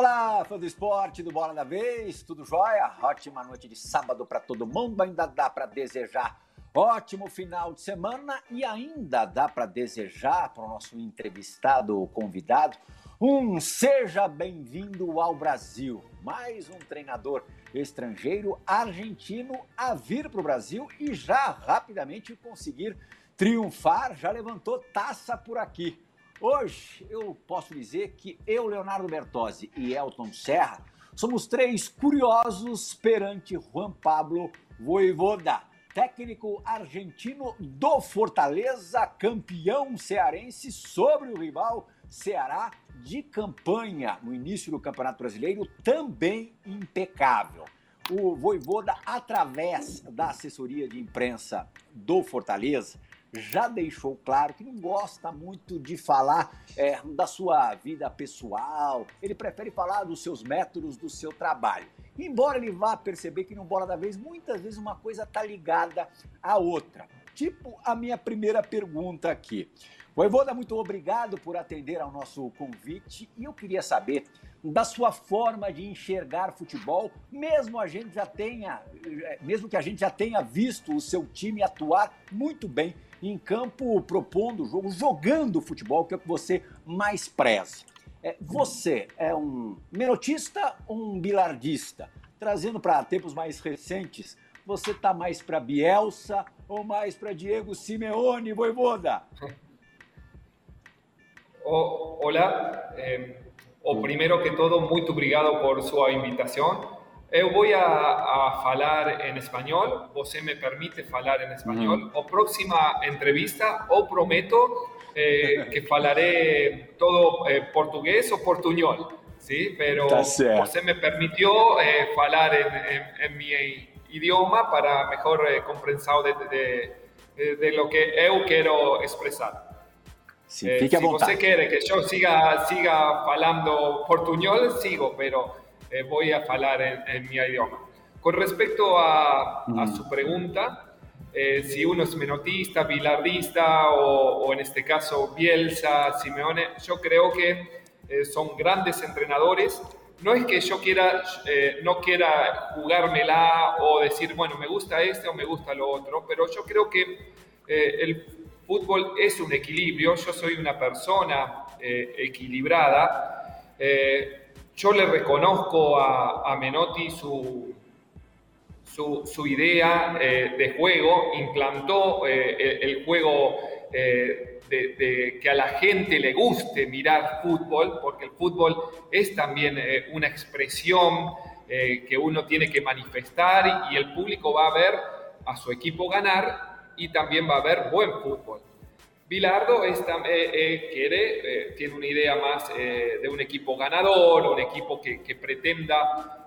Olá, fã do esporte, do Bola da Vez, tudo jóia? Ótima noite de sábado para todo mundo, ainda dá para desejar ótimo final de semana e ainda dá para desejar para o nosso entrevistado convidado seja bem-vindo ao Brasil. Mais um treinador estrangeiro argentino a vir para o Brasil e já rapidamente conseguir triunfar, já levantou taça por aqui. Hoje eu posso dizer que eu, Leonardo Bertozzi e Elton Serra somos três curiosos perante Juan Pablo Vojvoda, técnico argentino do Fortaleza, campeão cearense sobre o rival Ceará de campanha no início do Campeonato Brasileiro, também impecável. O Vojvoda, através da assessoria de imprensa do Fortaleza, já deixou claro que não gosta muito de falar da sua vida pessoal, ele prefere falar dos seus métodos, do seu trabalho. Embora ele vá perceber que no Bola da Vez, muitas vezes uma coisa está ligada à outra. Tipo a minha primeira pergunta aqui. Vojvoda, muito obrigado por atender ao nosso convite e eu queria saber da sua forma de enxergar futebol, mesmo que a gente já tenha visto o seu time atuar muito bem em campo, propondo o jogo, jogando futebol, que é o que você mais preza. Você é um menotista ou um bilardista? Trazendo para tempos mais recentes, você está mais para Bielsa ou mais para Diego Simeone, Vojvoda? Hola, primero que todo, muito obrigado por sua invitação. Eu vou a falar em espanhol, você me permite falar em espanhol. A próxima entrevista, eu prometo que falaré todo português ou portunhol, ¿sí? Pero você me permitió falar en mi idioma para mejor compreensão de lo que eu quero expressar. Sim, fique à vontade. Se você quer que eu siga falando portunhol, sigo, pero voy a falar en mi idioma. Con respecto a su pregunta, si uno es menotista, bilardista o en este caso Bielsa, Simeone, yo creo que son grandes entrenadores. No es que yo no quiera jugármela o decir, bueno, me gusta este o me gusta lo otro, pero yo creo que el fútbol es un equilibrio. Yo soy una persona equilibrada. Yo le reconozco a Menotti su idea de juego, implantó el juego de que a la gente le guste mirar fútbol, porque el fútbol es también una expresión que uno tiene que manifestar y el público va a ver a su equipo ganar y también va a haber buen fútbol. Bilardo tiene una idea más de un equipo ganador, un equipo que pretenda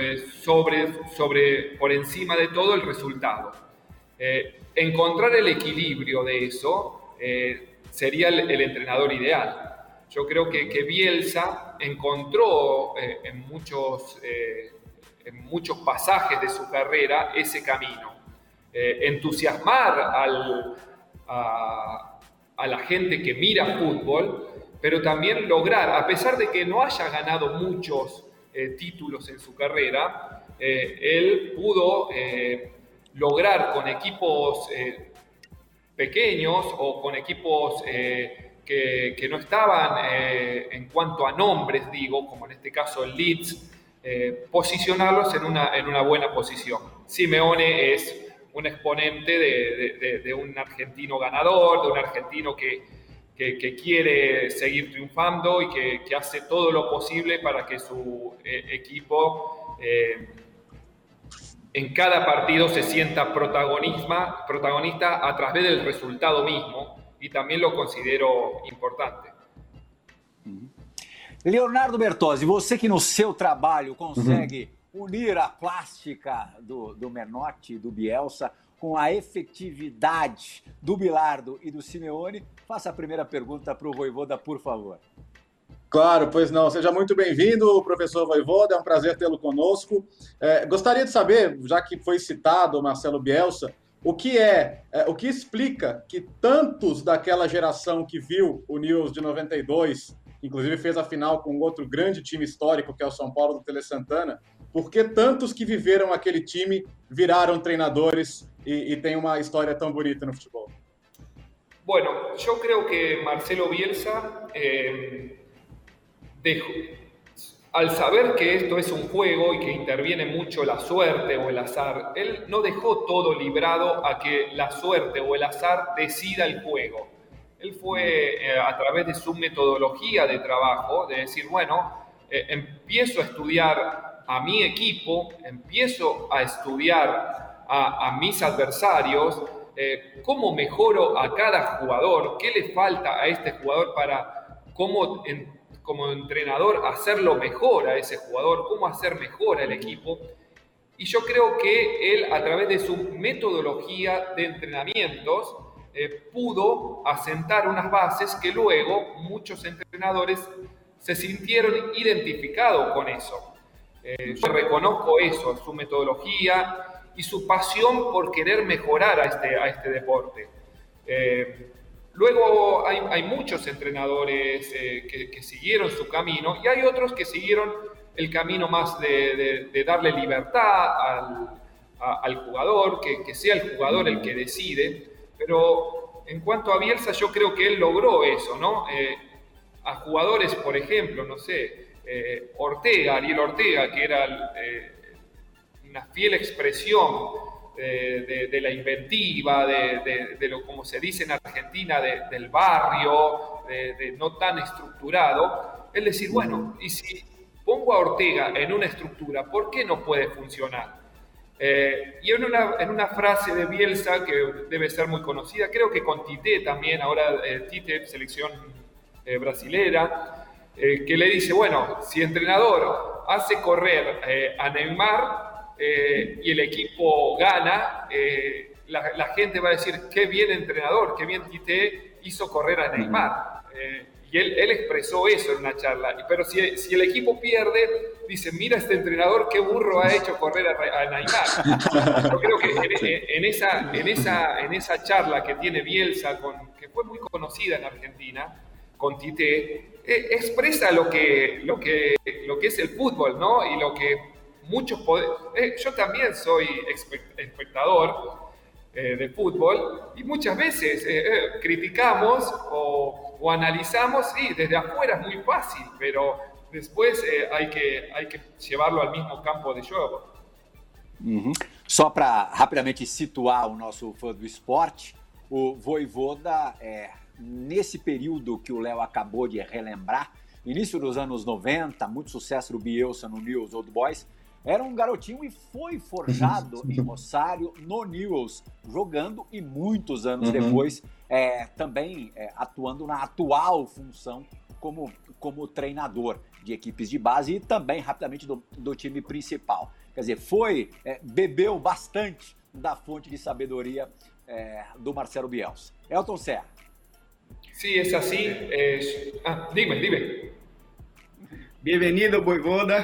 por encima de todo el resultado. Encontrar el equilibrio de eso sería el entrenador ideal. Yo creo que Bielsa encontró en muchos pasajes de su carrera ese camino. Entusiasmar a la gente que mira fútbol, pero también lograr, a pesar de que no haya ganado muchos títulos en su carrera, él pudo lograr con equipos pequeños o con equipos que no estaban en cuanto a nombres, digo, como en este caso el Leeds, posicionarlos en una buena posición. Simeone es un exponente de un argentino ganador, de un argentino que quiere seguir triunfando y que hace todo lo posible para que su equipo en cada partido se sienta protagonista a través del resultado mismo, y también lo considero importante. Leonardo Bertozzi, você que no seu trabalho consegue unir a plástica do Menotti, do Bielsa, com a efetividade do Bilardo e do Simeone, faça a primeira pergunta para o Vojvoda, por favor. Claro, pois não. Seja muito bem-vindo, professor Vojvoda, é um prazer tê-lo conosco. Gostaria de saber, já que foi citado o Marcelo Bielsa, o que explica que tantos daquela geração que viu o Nils de 92 inclusive fez a final com outro grande time histórico, que é o São Paulo do Tele Santana. Por que tantos que viveram aquele time viraram treinadores e têm uma história tão bonita no futebol? Bueno, yo creo que Marcelo Bielsa al saber que esto es un juego y que interviene mucho la suerte o el azar, él no dejó todo librado a que la suerte o el azar decida el juego. Él fue a través de su metodología de trabajo, de decir, bueno, empiezo a estudiar a mi equipo, empiezo a estudiar a mis adversarios, cómo mejoro a cada jugador, qué le falta a este jugador para cómo como entrenador hacerlo mejor a ese jugador, cómo hacer mejor al equipo. Y yo creo que él, a través de su metodología de entrenamientos, pudo asentar unas bases que luego muchos entrenadores se sintieron identificados con eso. Yo reconozco eso, su metodología y su pasión por querer mejorar a este deporte. Luego hay muchos entrenadores que siguieron su camino y hay otros que siguieron el camino más de darle libertad al jugador, que sea el jugador el que decide. Pero en cuanto a Bielsa, yo creo que él logró eso, ¿no? A jugadores, por ejemplo, no sé, Ariel Ortega, que era una fiel expresión de la inventiva, de lo como se dice en Argentina, del barrio, de no tan estructurado, es decir, bueno, y si pongo a Ortega en una estructura, ¿por qué no puede funcionar? Y en una frase de Bielsa que debe ser muy conocida, creo que con Tite también, ahora Tite, selección brasilera, que le dice, bueno, si entrenador hace correr a Neymar, y el equipo gana, la gente va a decir, qué bien entrenador, qué bien Tite hizo correr a Neymar. Y él expresó eso en una charla. Pero si el equipo pierde, dice, mira este entrenador, qué burro ha hecho correr a Neymar. Yo creo que en esa charla que tiene Bielsa, que fue muy conocida en Argentina, con Tite, expresa lo que es el fútbol, ¿no? Y lo que muchos yo también soy espectador de fútbol y muchas veces criticamos o analizamos, sí, desde afuera es muy fácil, pero después hay que llevarlo al mismo campo de juego. Uhum. Só para rapidamente situar o nosso fã do esporte, o Vojvoda, nesse período que o Léo acabou de relembrar, início dos anos 90, muito sucesso do Bielsa no Newell's Old Boys, era um garotinho e foi forjado em Rosário, no Newell's, jogando e muitos anos depois também atuando na atual função como treinador de equipes de base e também rapidamente do time principal. Quer dizer, bebeu bastante da fonte de sabedoria do Marcelo Bielsa. Elton Serra. Sí, es así. Dime. Bem-vindo, Vojvoda.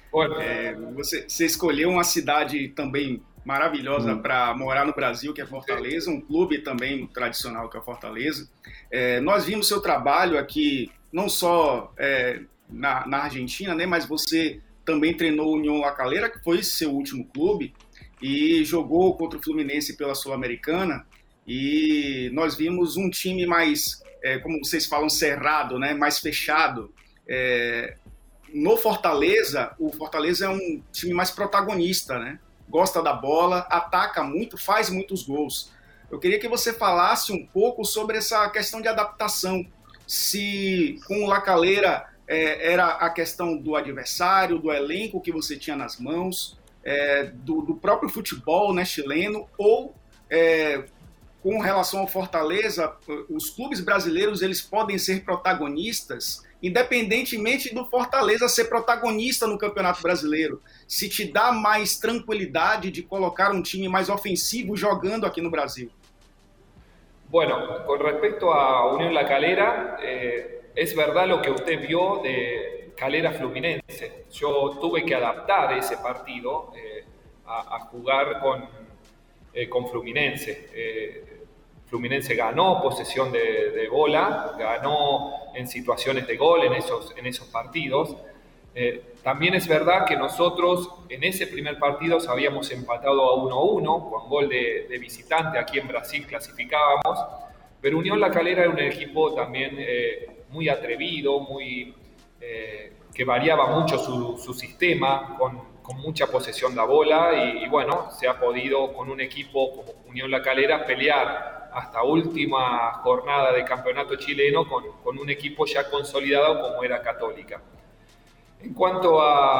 Você escolheu uma cidade também maravilhosa para morar no Brasil, que é Fortaleza, um clube também tradicional que é Fortaleza. Nós vimos seu trabalho aqui, não só na Argentina, né, mas você também treinou o União La Calera, que foi seu último clube, e jogou contra o Fluminense pela Sul-Americana, e nós vimos um time mais, como vocês falam, cerrado, né, mais fechado. No Fortaleza, o Fortaleza é um time mais protagonista, né? Gosta da bola, ataca muito, faz muitos gols. Eu queria que você falasse um pouco sobre essa questão de adaptação. Se com o La Calera era a questão do adversário, do elenco que você tinha nas mãos, do próprio futebol, né, chileno, ou com relação ao Fortaleza, os clubes brasileiros eles podem ser protagonistas independentemente do Fortaleza ser protagonista no Campeonato Brasileiro, se te dá mais tranquilidade de colocar um time mais ofensivo jogando aqui no Brasil? Bueno, con respecto a Unión La Calera, es verdad lo que usted vio de Calera Fluminense. Yo tuve que adaptar ese partido a jugar con Fluminense. Fluminense ganó posesión de bola, ganó en situaciones de gol en esos partidos. También es verdad que nosotros en ese primer partido habíamos empatado a 1-1 con gol de visitante. Aquí en Brasil clasificábamos, pero Unión La Calera era un equipo también muy atrevido, que variaba mucho su sistema, con mucha posesión de bola y bueno, se ha podido con un equipo como Unión La Calera pelear hasta última jornada de campeonato chileno con un equipo ya consolidado como era Católica. En cuanto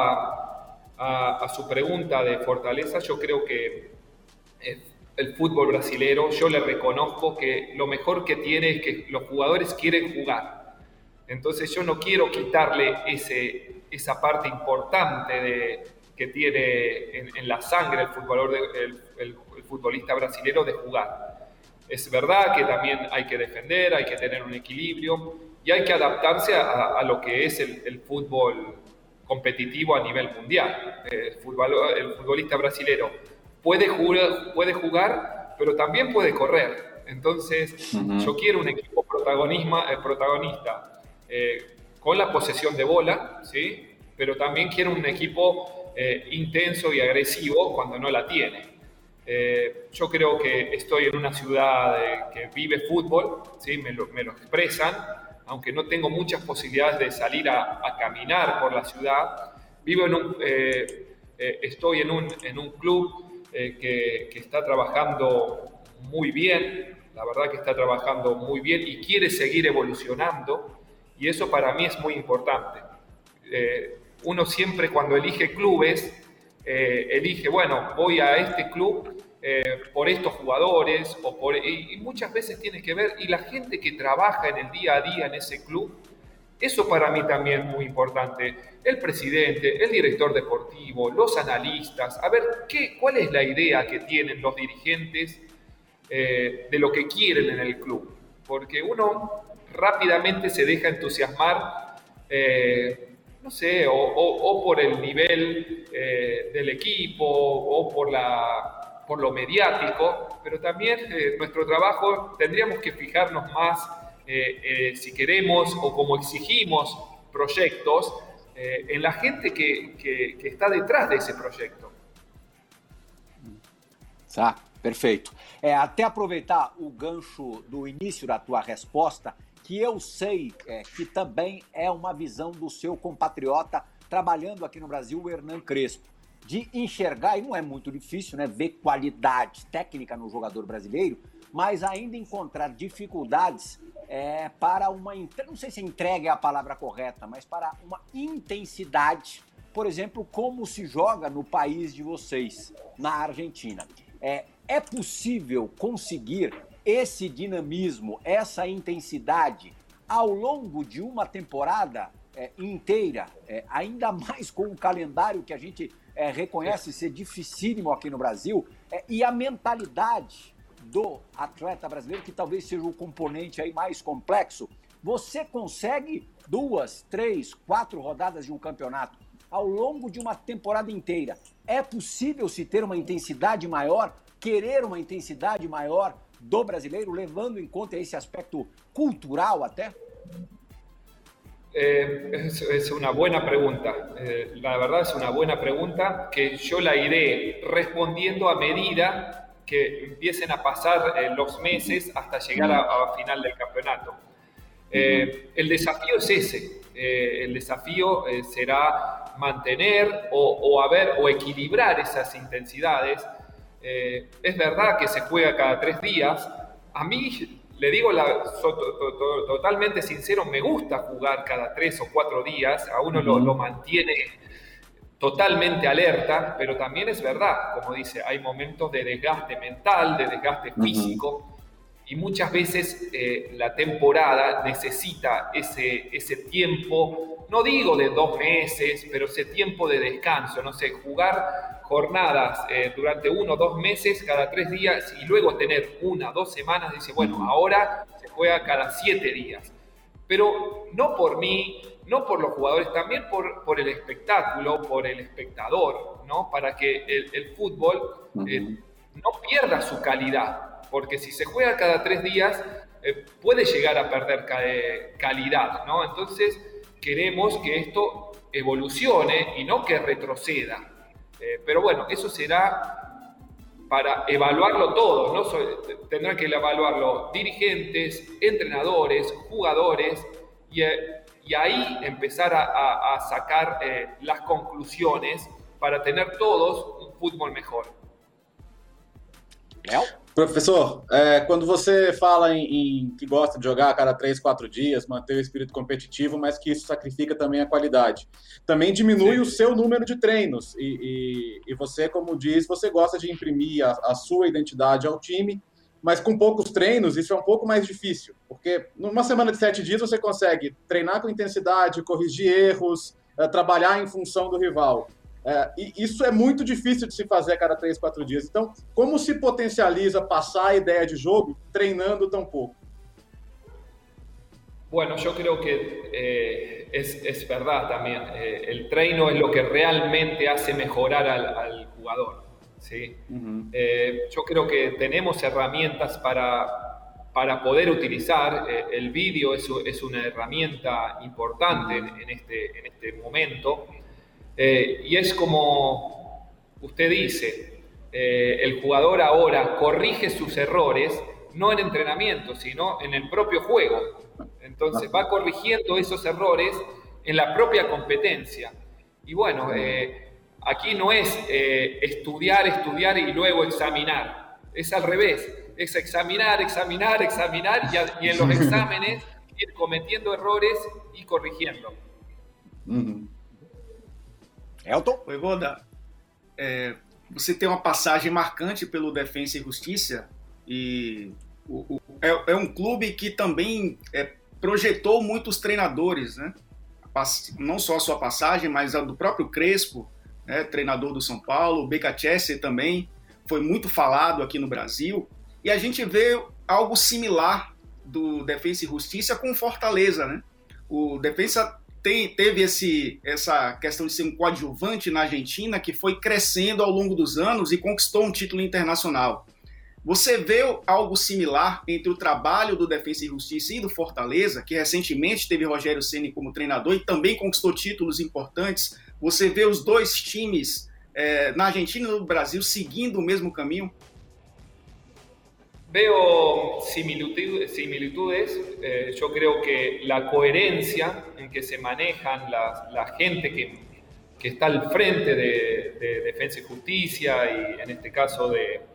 a su pregunta de fortaleza, yo creo que el fútbol brasilero, yo le reconozco que lo mejor que tiene es que los jugadores quieren jugar. Entonces yo no quiero quitarle esa parte importante que tiene en la sangre el futbolista brasilero de jugar. Es verdad que también hay que defender, hay que tener un equilibrio y hay que adaptarse a lo que es el fútbol competitivo a nivel mundial. El futbolista brasilero puede jugar, pero también puede correr. Entonces, yo quiero un equipo protagonista con la posesión de bola, ¿sí? Pero también quiero un equipo intenso y agresivo cuando no la tiene. Yo creo que estoy en una ciudad que vive fútbol, ¿sí? Me lo expresan, aunque no tengo muchas posibilidades de salir a caminar por la ciudad. Estoy en un club que está trabajando muy bien, la verdad que está trabajando muy bien y quiere seguir evolucionando, y eso para mí es muy importante. Uno siempre cuando elige clubes, elige, bueno, voy a este club por estos jugadores, y muchas veces tiene que ver, y la gente que trabaja en el día a día en ese club, eso para mí también es muy importante. El presidente, el director deportivo, los analistas, a ver, ¿cuál es la idea que tienen los dirigentes de lo que quieren en el club? Porque uno rápidamente se deja entusiasmar, no sé, o por el nivel del equipo, o por lo mediático, pero también nuestro trabajo tendríamos que fijarnos más, si queremos o como exigimos proyectos, en la gente que está detrás de esse projeto. Tá, perfeito. Até aproveitar o gancho do início da tua resposta, que eu sei que também é uma visão do seu compatriota trabalhando aqui no Brasil, o Hernan Crespo, de enxergar, e não é muito difícil, né, ver qualidade técnica no jogador brasileiro, mas ainda encontrar dificuldades para uma, não sei se entrega é a palavra correta, mas para uma intensidade, por exemplo, como se joga no país de vocês, na Argentina. É possível conseguir esse dinamismo, essa intensidade ao longo de uma temporada inteira, ainda mais com o calendário que a gente reconhece ser dificílimo aqui no Brasil, e a mentalidade do atleta brasileiro, que talvez seja o componente aí mais complexo. Você consegue 2, 3, 4 rodadas de um campeonato ao longo de uma temporada inteira. É possível se ter uma intensidade maior, querer uma intensidade maior do brasileiro, levando em conta esse aspecto cultural até? Es una buena pregunta. La verdad es una buena pregunta que yo la iré respondiendo a medida que empiecen a pasar los meses hasta llegar a final del campeonato. El desafío es ese. El desafío será mantener o equilibrar esas intensidades. Es verdad que se juega cada 3 días. A mí, le digo totalmente sincero, me gusta jugar cada 3 o 4 días. A uno lo mantiene totalmente alerta, pero también es verdad, como dice, hay momentos de desgaste mental, de desgaste físico, y muchas veces la temporada necesita ese tiempo, no digo de 2 meses, pero ese tiempo de descanso, no sé, jugar jornadas durante 1 o 2 meses, cada 3 días, y luego tener 1 o 2 semanas, dice, bueno, ahora se juega cada 7 días. Pero no por mí, no por los jugadores, también por el espectáculo, por el espectador, ¿no? Para que el fútbol no pierda su calidad. porque si se juega cada 3 días, puede llegar a perder calidad, ¿no? Entonces, queremos que esto evolucione y no que retroceda. Pero bueno, eso será para evaluarlo todo, ¿no? Tendrán que evaluarlo dirigentes, entrenadores, jugadores, y ahí empezar a sacar las conclusiones para tener todos un fútbol mejor. Léo? Professor, quando você fala em que gosta de jogar a cada 3, 4 dias, manter o espírito competitivo, mas que isso sacrifica também a qualidade, também diminui o seu número de treinos. E você, como diz, você gosta de imprimir a sua identidade ao time, mas com poucos treinos isso é um pouco mais difícil, porque numa semana de 7 dias você consegue treinar com intensidade, corrigir erros, trabalhar em função do rival. E isso é muito difícil de se fazer a cada 3, 4 dias. Então, como se potencializa passar a ideia de jogo treinando tão pouco? Bueno, yo creo que es verdad también. El treino es lo que realmente hace mejorar al jugador, ¿sí? Uh-huh. Yo creo que tenemos herramientas para poder utilizar. El vídeo es una herramienta importante en este momento. Y es como usted dice, el jugador ahora corrige sus errores no en entrenamiento, sino en el propio juego. Entonces va corrigiendo esos errores en la propia competencia. Y bueno, aquí no es estudiar y luego examinar. Es al revés, es examinar y en los exámenes ir cometiendo errores y corrigiendo. Uh-huh. Elton? Voivoda, você tem uma passagem marcante pelo Defensa e Justiça e é um clube que também projetou muitos treinadores, né? Não só a sua passagem, mas a do próprio Crespo, né? Treinador do São Paulo, o BKCS também foi muito falado aqui no Brasil, e a gente vê algo similar do Defensa e Justiça com o Fortaleza, né? O Defensa teve essa questão de ser um coadjuvante na Argentina que foi crescendo ao longo dos anos e conquistou um título internacional. Você vê algo similar entre o trabalho do Defensa e Justiça e do Fortaleza, que recentemente teve Rogério Ceni como treinador e também conquistou títulos importantes? Você vê os dois times na Argentina e no Brasil seguindo o mesmo caminho? Veo similitudes. Yo creo que la coherencia en que se manejan la gente que está al frente de Defensa y Justicia y en este caso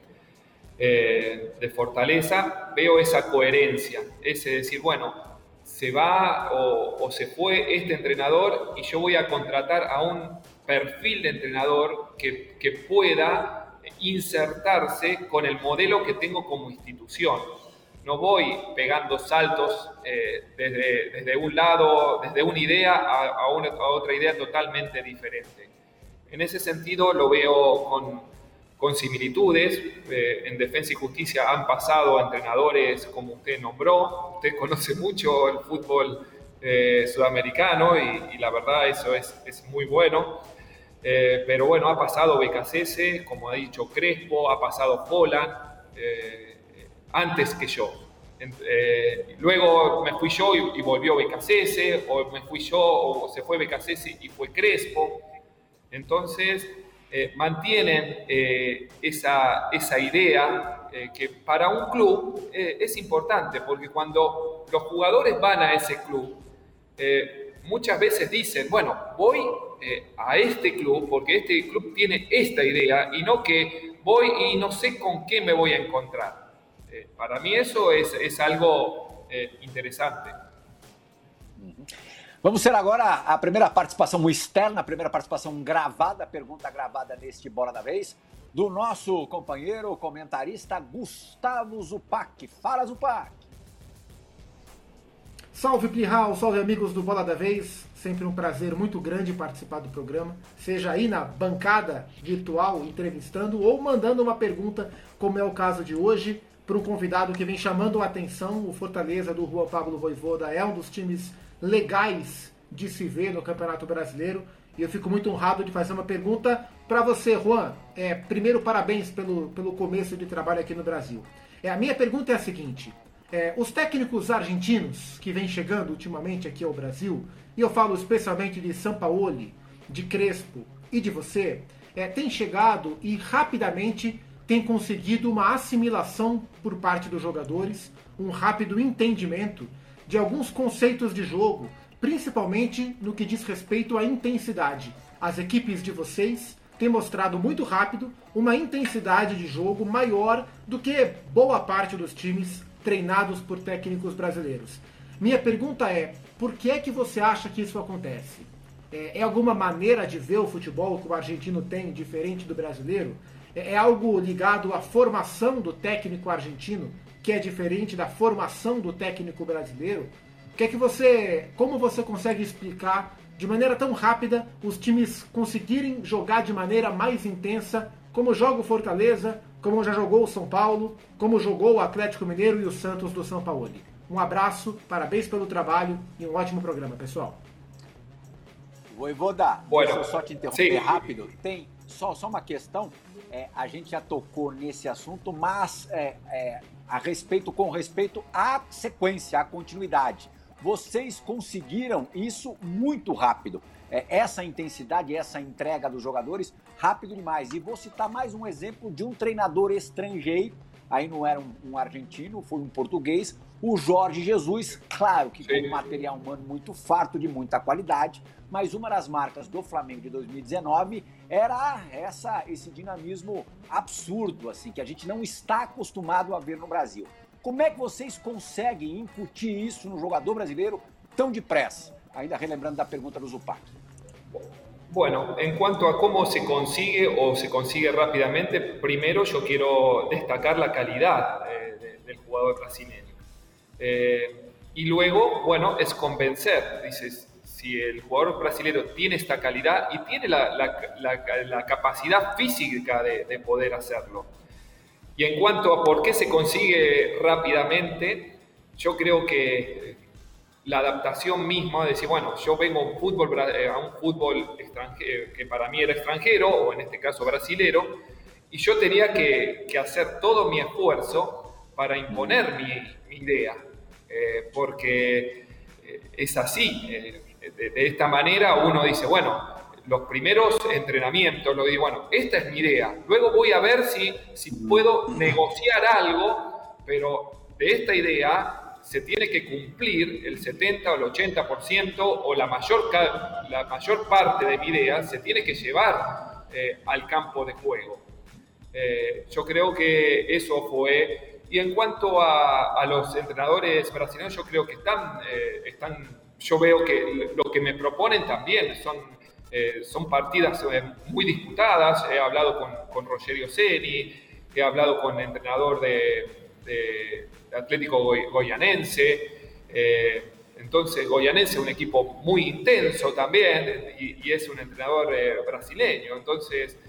de Fortaleza, veo esa coherencia. Es decir, bueno, se va o se fue este entrenador y yo voy a contratar a un perfil de entrenador que pueda insertarse con el modelo que tengo como institución. No voy pegando saltos desde un lado, desde una idea a otra idea totalmente diferente. En ese sentido lo veo con similitudes. En Defensa y Justicia han pasado entrenadores como usted nombró. Usted conoce mucho el fútbol sudamericano y la verdad eso es muy bueno. Pero bueno, ha pasado BKCS, como ha dicho Crespo, ha pasado Holland, antes que yo. Luego me fui yo y volvió BKCS, o me fui yo o se fue BKCS y fue Crespo. Entonces mantienen esa idea que para un club es importante, porque cuando los jugadores van a ese club, muchas veces dicen, bueno, voy a este club porque este club tiene esta idea y no que voy y no sé con qué me voy a encontrar. Para mí eso es algo interessante. Vamos ter agora a primeira participação externa, a primeira participação gravada, pergunta gravada neste Bola da Vez, do nosso companheiro comentarista Gustavo Zupac. Fala, Zupac! Salve, Plihal, salve, amigos do Bola da Vez. Sempre um prazer muito grande participar do programa, seja aí na bancada virtual entrevistando ou mandando uma pergunta, como é o caso de hoje, para um convidado que vem chamando a atenção. O Fortaleza do Juan Pablo Voivoda é um dos times legais de se ver no Campeonato Brasileiro e eu fico muito honrado de fazer uma pergunta para você, Juan. Primeiro, parabéns pelo começo de trabalho aqui no Brasil. A minha pergunta é a seguinte: os técnicos argentinos que vêm chegando ultimamente aqui ao Brasil, e eu falo especialmente de Sampaoli, de Crespo e de você, têm chegado e rapidamente têm conseguido uma assimilação por parte dos jogadores, um rápido entendimento de alguns conceitos de jogo, principalmente no que diz respeito à intensidade. As equipes de vocês têm mostrado muito rápido uma intensidade de jogo maior do que boa parte dos times treinados por técnicos brasileiros. Minha pergunta é, por que é que você acha que isso acontece? É alguma maneira de ver o futebol que o argentino tem diferente do brasileiro? É algo ligado à formação do técnico argentino, que é diferente da formação do técnico brasileiro? Como você consegue explicar de maneira tão rápida os times conseguirem jogar de maneira mais intensa, como joga o Fortaleza, como já jogou o São Paulo, como jogou o Atlético Mineiro e o Santos do Sampaoli? Um abraço, parabéns pelo trabalho e um ótimo programa, pessoal. Voivoda, deixa eu só te interromper rápido. Tem só uma questão, a gente já tocou nesse assunto, mas com respeito à sequência, à continuidade. Vocês conseguiram isso muito rápido. Essa intensidade, essa entrega dos jogadores, rápido demais. E vou citar mais um exemplo de um treinador estrangeiro, aí não era um argentino, foi um português, o Jorge Jesus, claro que com um material humano muito farto, de muita qualidade, mas uma das marcas do Flamengo de 2019 era esse dinamismo absurdo, assim, que a gente não está acostumado a ver no Brasil. Como é que vocês conseguem incutir isso no jogador brasileiro tão depressa? Ainda relembrando da pergunta do Zupac. Bueno, en cuanto a cómo se consigue o se consigue rápidamente, primero yo quiero destacar la calidad del jugador brasileño. Y luego, bueno, es convencer. Dices, si el jugador brasileño tiene esta calidad y tiene la capacidad física de poder hacerlo. Y en cuanto a por qué se consigue rápidamente, yo creo que la adaptación misma, de decir, bueno, yo vengo a un fútbol extranjero, que para mí era extranjero, o en este caso brasilero, y yo tenía que hacer todo mi esfuerzo para imponer mi idea, porque es así. De esta manera uno dice, bueno, los primeros entrenamientos, lo digo, bueno, esta es mi idea. Luego voy a ver si puedo negociar algo, pero de esta idea se tiene que cumplir el 70 o el 80% o la mayor parte de mi idea se tiene que llevar al campo de juego. Yo creo que eso fue. Y en cuanto a los entrenadores brasileños, yo creo que están yo veo que lo que me proponen también son partidas muy disputadas. He hablado con Rogerio Ceni, he hablado con el entrenador de Atlético Goianense. Entonces, Goianense es un equipo muy intenso también y es un entrenador brasileño. Entonces,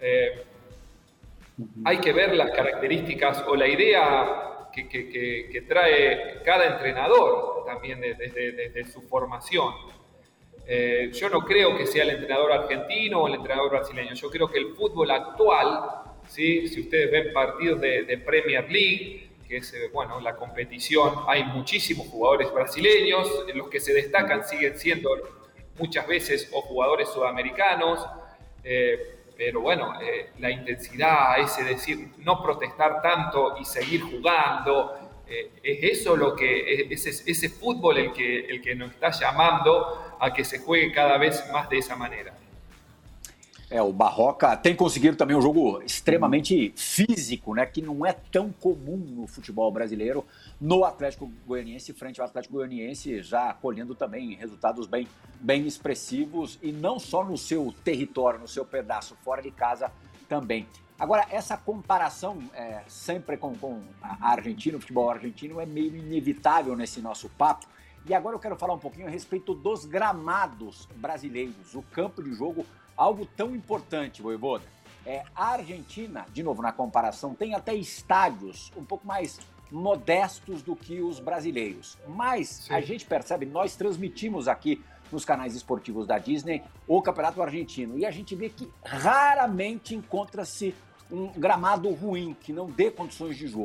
hay que ver las características o la idea que trae cada entrenador también desde su formación. Yo no creo que sea el entrenador argentino o el entrenador brasileño. Yo creo que el fútbol actual, ¿sí? Si ustedes ven partidos de Premier League, que es la competición, hay muchísimos jugadores brasileños, los que se destacan siguen siendo muchas veces o jugadores sudamericanos, pero la intensidad, ese decir, no protestar tanto y seguir jugando, es eso lo que ese fútbol el que nos está llamando a que se juegue cada vez más de esa maneira. O Barroca tem conseguido também um jogo extremamente físico, né, que não é tão comum no futebol brasileiro, no Atlético Goianiense, frente ao Atlético Goianiense, já colhendo também resultados bem expressivos, e não só no seu território, no seu pedaço, fora de casa também. Agora, essa comparação sempre com a Argentina, o futebol argentino, é meio inevitável nesse nosso papo. E agora eu quero falar um pouquinho a respeito dos gramados brasileiros, o campo de jogo, algo tão importante, Voivoda. A Argentina, de novo na comparação, tem até estádios um pouco mais modestos do que os brasileiros. Mas sim, a gente percebe, nós transmitimos aqui nos canais esportivos da Disney o Campeonato Argentino, e a gente vê que raramente encontra-se um gramado ruim, que não dê condições de jogo.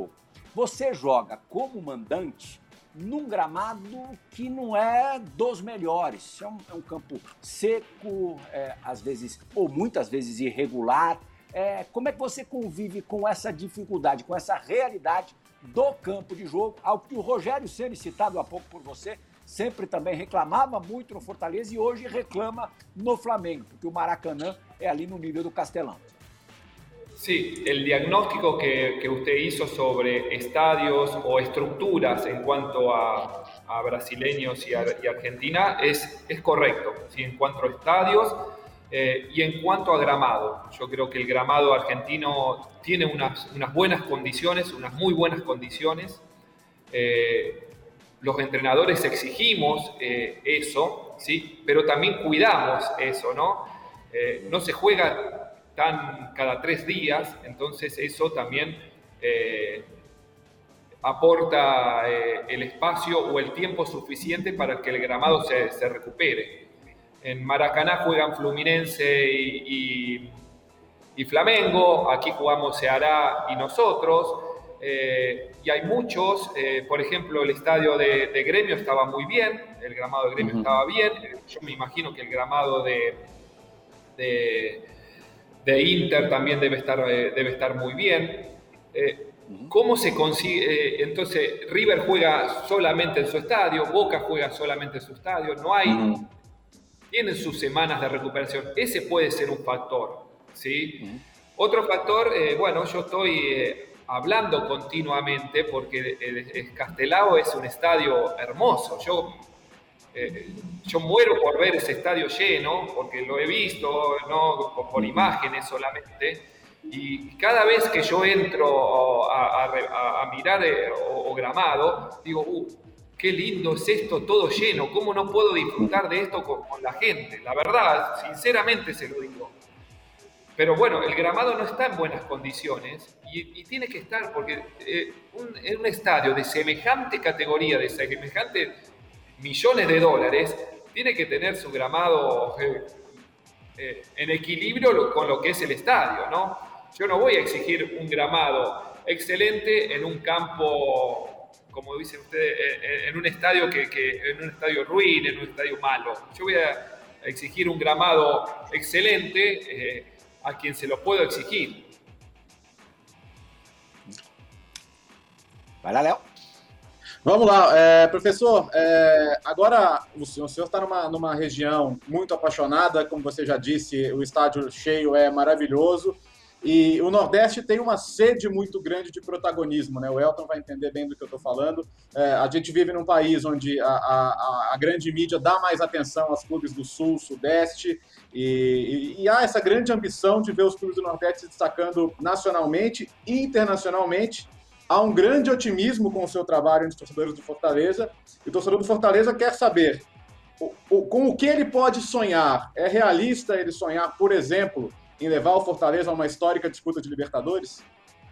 você joga como mandante num gramado que não é dos melhores. É um campo seco, às vezes, ou muitas vezes irregular. Como é que você convive com essa dificuldade, com essa realidade do campo de jogo, ao que o Rogério Ceni, citado há pouco por você, sempre também reclamava muito no Fortaleza e hoje reclama no Flamengo, porque o Maracanã é ali no nível do Castelão. Sí, el diagnóstico que usted hizo sobre estadios o estructuras en cuanto a brasileños y Argentina es correcto, ¿sí? En cuanto a estadios y en cuanto a gramado. Yo creo que el gramado argentino tiene unas buenas condiciones, unas muy buenas condiciones. Los entrenadores exigimos eso, ¿sí? Pero también cuidamos eso, ¿no? No se juega cada 3 días, entonces eso también aporta el espacio o el tiempo suficiente para que el gramado se recupere. En Maracaná juegan Fluminense y Flamengo, aquí jugamos Ceará y nosotros, y hay muchos, por ejemplo, el estadio de Gremio estaba muy bien, el gramado de Gremio estaba bien, yo me imagino que el gramado de Inter también debe estar muy bien. ¿Cómo se consigue? Entonces, River juega solamente en su estadio, Boca juega solamente en su estadio, no hay... Tienen sus semanas de recuperación. Ese puede ser un factor, ¿sí? Otro factor, bueno, yo estoy hablando continuamente porque el Castelao es un estadio hermoso. Yo muero por ver ese estadio lleno, porque lo he visto, no por imágenes solamente, y cada vez que yo entro a mirar o gramado, digo, qué lindo es esto todo lleno, cómo no puedo disfrutar de esto con la gente. La verdad, sinceramente se lo digo. Pero bueno, el gramado no está en buenas condiciones y tiene que estar, porque en un estadio de semejante categoría, de semejante millones de dólares, tiene que tener su gramado en equilibrio con lo que es el estadio, ¿no? Yo no voy a exigir un gramado excelente en un campo, como dicen ustedes, en un estadio en un estadio ruin, en un estadio malo. Yo voy a exigir un gramado excelente a quien se lo puedo exigir. Vai lá, Léo. Vamos lá, professor, agora o senhor está numa região muito apaixonada, como você já disse, o estádio cheio é maravilhoso, e o Nordeste tem uma sede muito grande de protagonismo, né? O Elton vai entender bem do que eu estou falando. A gente vive num país onde a grande mídia dá mais atenção aos clubes do Sul, Sudeste, e há essa grande ambição de ver os clubes do Nordeste se destacando nacionalmente e internacionalmente. Há um grande otimismo com o seu trabalho entre os torcedores do Fortaleza, e o torcedor do Fortaleza quer saber com o que ele pode sonhar. É realista ele sonhar, por exemplo, em levar o Fortaleza a uma histórica disputa de Libertadores?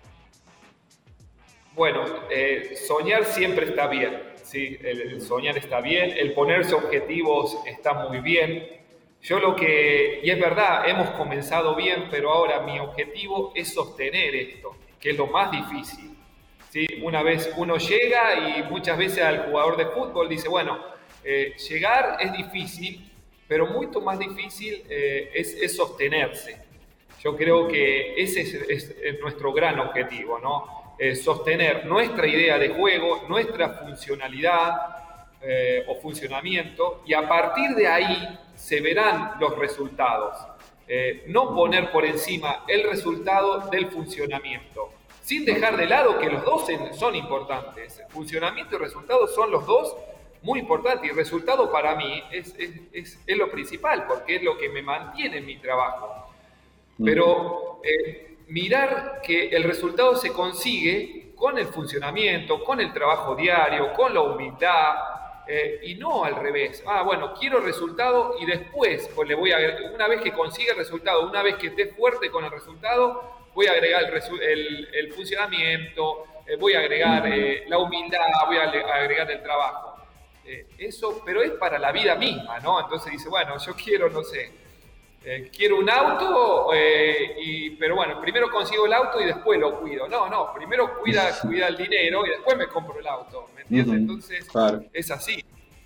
Bueno, soñar siempre está bien, ¿sí? El soñar está bien, el ponerse objetivos está muy bien. Y es verdad, hemos comenzado bien, pero ahora mi objetivo es sostener esto, que es lo más difícil. ¿Sí? Una vez uno llega y muchas veces al jugador de fútbol dice, bueno, llegar es difícil, pero mucho más difícil es sostenerse. Yo creo que ese es nuestro gran objetivo, ¿no? Sostener nuestra idea de juego, nuestra funcionalidad o funcionamiento, y a partir de ahí se verán los resultados. No poner por encima el resultado del funcionamiento, sin dejar de lado que los dos son importantes. Funcionamiento y resultado son los dos muy importantes, y resultado para mí es lo principal, porque es lo que me mantiene en mi trabajo. Pero mirar que el resultado se consigue con el funcionamiento, con el trabajo diario, con la humildad, y no al revés. Bueno, quiero resultado y después pues una vez que consiga el resultado, una vez que esté fuerte con el resultado, voy a agregar el funcionamiento, voy a agregar la humildad, voy a agregar el trabajo. Eso, pero es para la vida misma, ¿no? Entonces dice, bueno, yo quiero, no sé, Quiero un auto, pero bueno, primero consigo el auto y después lo cuido. No, primero cuida el dinero y después me compro el auto, ¿me entiendes? Entonces, claro. Es así.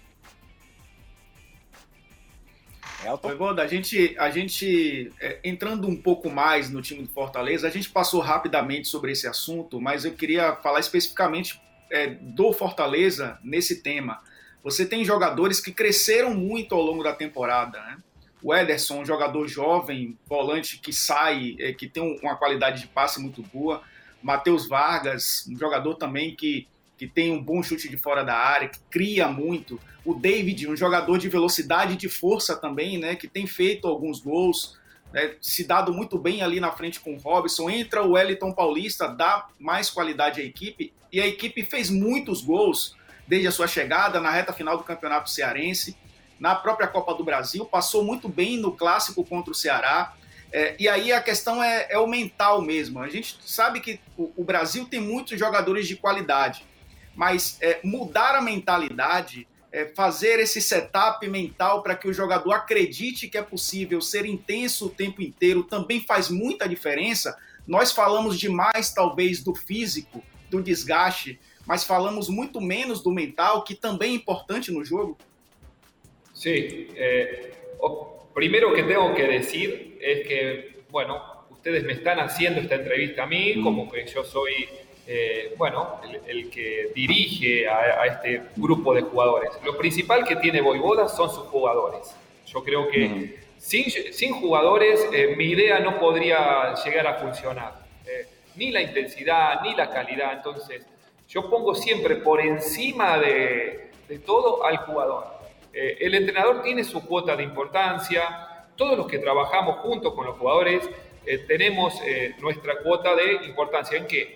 Voivoda, a gente entrando um pouco mais no time do Fortaleza, a gente passou rapidamente sobre esse assunto, mas eu queria falar especificamente do Fortaleza nesse tema. Você tem jogadores que cresceram muito ao longo da temporada, né? O Ederson, um jogador jovem, volante que sai, que tem uma qualidade de passe muito boa. Matheus Vargas, um jogador também que tem um bom chute de fora da área, que cria muito. O David, um jogador de velocidade e de força também, né, que tem feito alguns gols, né, se dado muito bem ali na frente com o Robson. Entra o Wellington Paulista, dá mais qualidade à equipe, e a equipe fez muitos gols desde a sua chegada na reta final do Campeonato Cearense, na própria Copa do Brasil, passou muito bem no Clássico contra o Ceará. E aí a questão é o mental mesmo. A gente sabe que o Brasil tem muitos jogadores de qualidade, mas mudar a mentalidade, fazer esse setup mental para que o jogador acredite que é possível ser intenso o tempo inteiro também faz muita diferença. Nós falamos demais, talvez, do físico, do desgaste, mas falamos muito menos do mental, que também é importante no jogo. Sí, primero que tengo que decir es que, bueno, ustedes me están haciendo esta entrevista a mí, como que yo soy, el que dirige a este grupo de jugadores. Lo principal que tiene Voivoda son sus jugadores. Yo creo que sin jugadores mi idea no podría llegar a funcionar. Ni la intensidad, ni la calidad. Entonces, yo pongo siempre por encima de todo al jugador. El entrenador tiene su cuota de importancia, todos los que trabajamos junto con los jugadores tenemos nuestra cuota de importancia. ¿En qué?